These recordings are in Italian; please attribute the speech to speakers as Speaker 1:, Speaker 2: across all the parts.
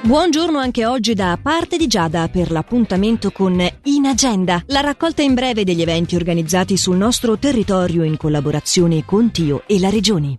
Speaker 1: Buongiorno anche oggi da parte di Giada per l'appuntamento con In Agenda, la raccolta in breve degli eventi organizzati sul nostro territorio in collaborazione con Tio e la Regione.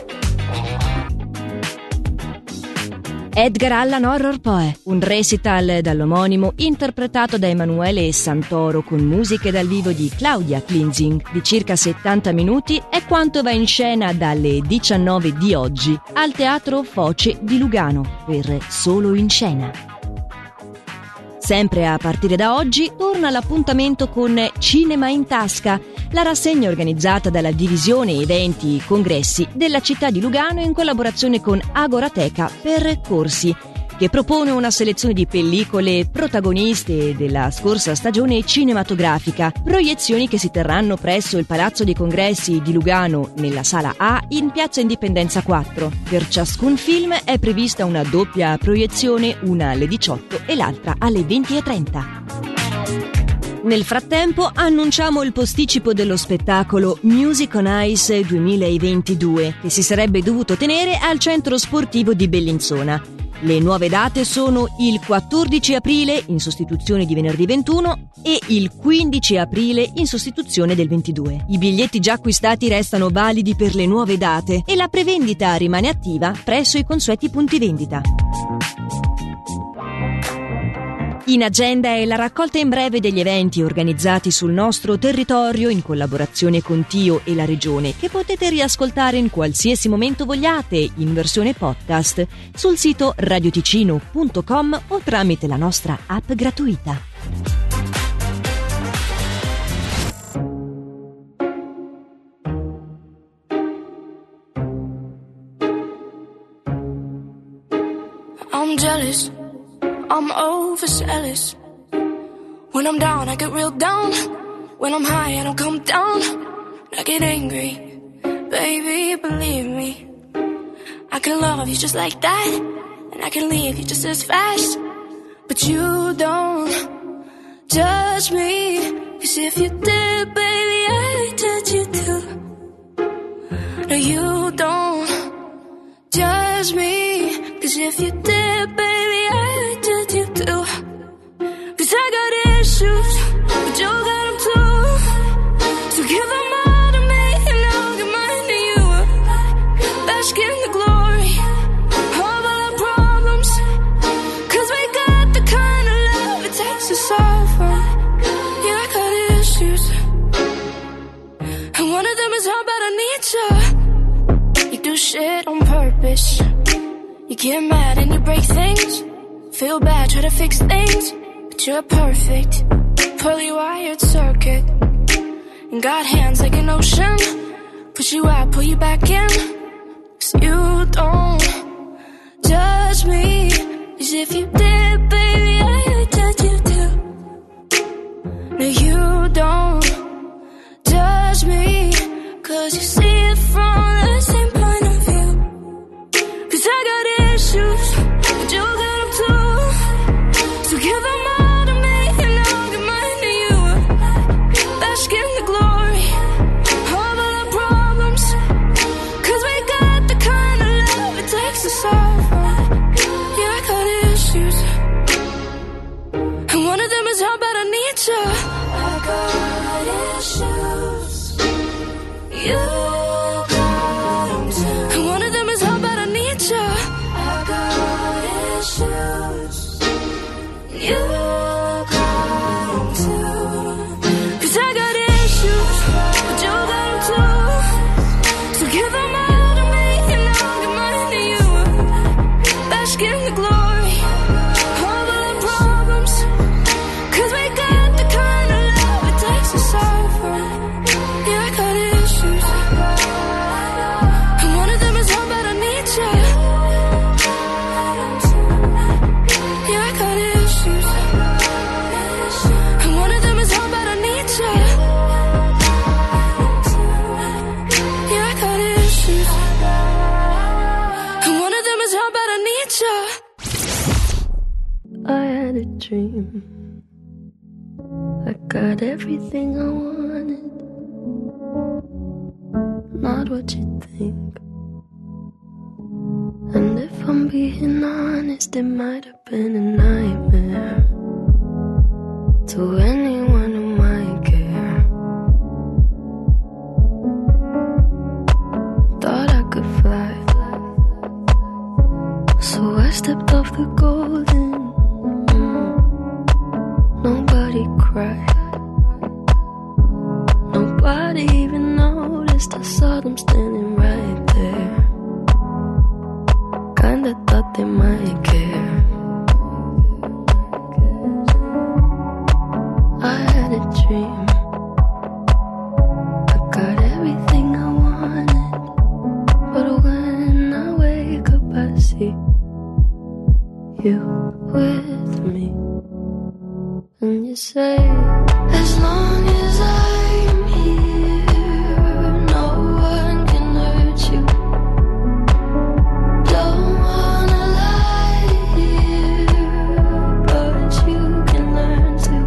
Speaker 1: Edgar Allan Horror Poe, un recital dall'omonimo interpretato da Emanuele Santoro con musiche dal vivo di Claudia Klinzing di circa 70 minuti è quanto va in scena dalle 19 di oggi al Teatro Foce di Lugano per Solo in Scena. Sempre a partire da oggi torna l'appuntamento con Cinema in Tasca, la rassegna organizzata dalla divisione eventi congressi della città di Lugano in collaborazione con Agorateca per Corsi, che propone una selezione di pellicole protagoniste della scorsa stagione cinematografica, proiezioni che si terranno presso il Palazzo dei Congressi di Lugano nella Sala A in Piazza Indipendenza 4. Per ciascun film è prevista una doppia proiezione, una alle 18 e l'altra alle 20:30. Nel frattempo annunciamo il posticipo dello spettacolo Music on Ice 2022 che si sarebbe dovuto tenere al centro sportivo di Bellinzona. Le nuove date sono il 14 aprile in sostituzione di venerdì 21 e il 15 aprile in sostituzione del 22. I biglietti già acquistati restano validi per le nuove date e la prevendita rimane attiva presso i consueti punti vendita. In Agenda è la raccolta in breve degli eventi organizzati sul nostro territorio in collaborazione con Tio e la Regione, che potete riascoltare in qualsiasi momento vogliate in versione podcast sul sito radioticino.com o tramite la nostra app gratuita.
Speaker 2: I'm jealous, I'm overzealous. When I'm down, I get real down. When I'm high, I don't come down. I get angry, baby, believe me. I can love you just like that, and I can leave you just as fast. But you don't judge me, 'cause if you did, baby, I'd judge you too. No, you don't judge me, 'cause if you did, baby, I'd judge you too. 'Cause I got issues, but you got them too. So give them all to me and I'll give mine to you. Bask in the glory of all our problems, 'cause we got the kind of love it takes to solve them. Yeah, I got issues, and one of them is how bad I need you. You do shit on purpose. You get mad and you break things. Feel bad, try to fix things. But you're perfect, poorly wired circuit. And got hands like an ocean. Push you out, pull you back in. 'Cause you don't judge me. 'Cause if you did, baby, I would judge you too. No, you don't judge me, 'cause you see it from the same point of view. 'Cause I got issues, but you got them too. So give them all to me and I'll give mine to you. Bask in the glory of all our problems, 'cause we got the kind of love it takes to solve them. Yeah, I got issues, and one of them is how bad I need you. I got issues, you got them too. And one of them is how bad I need you. I got issues, you got them too. 'Cause I got issues, but you got them too. So give them all to me and I'll give mine to you. Bask in the glory of all our problems, 'cause we got the kind of love it takes to solve them. Yeah, I got issues, and one of them is how bad I need you. Yeah, I got issues, and one of them is how bad I need you. Yeah, I got issues, and one of them is how bad I need you.
Speaker 3: I had a dream, I got everything I wanted, not what you think. And And if I'm being honest, it might have been a nightmare to anyone who might care. Thought I could fly, so I stepped off the golden. Nobody cried, nobody even noticed. I saw them standing right there. Kinda thought they might care. I had a dream, I got everything I wanted, but when I wake up I see you with me. And you say, as long as I'm here, no one can hurt you. Don't wanna lie here, but you can learn to.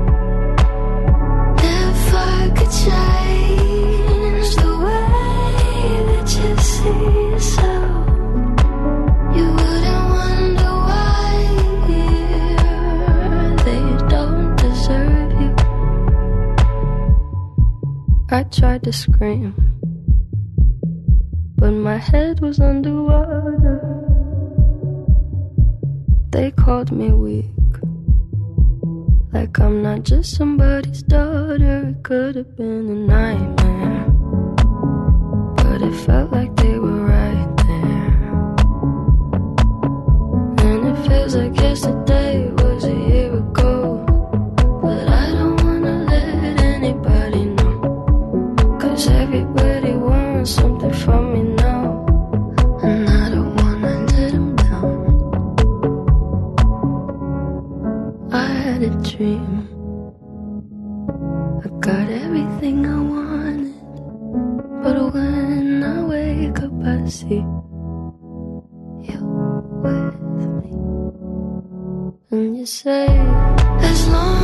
Speaker 3: If I could change the way that you see yourself, you wouldn't wonder why they don't deserve you. I tried to scream, but my head was underwater. They called me weak, like I'm not just somebody's daughter. It could have been a nightmare, but it felt like they were right there. And it feels like yesterday was a year ago, but I don't wanna let anybody know, 'cause everybody wants something from me now, and I don't wanna let them down. I had a dream, I got everything I wanted, but when I wake up I see you with me. And you say, as long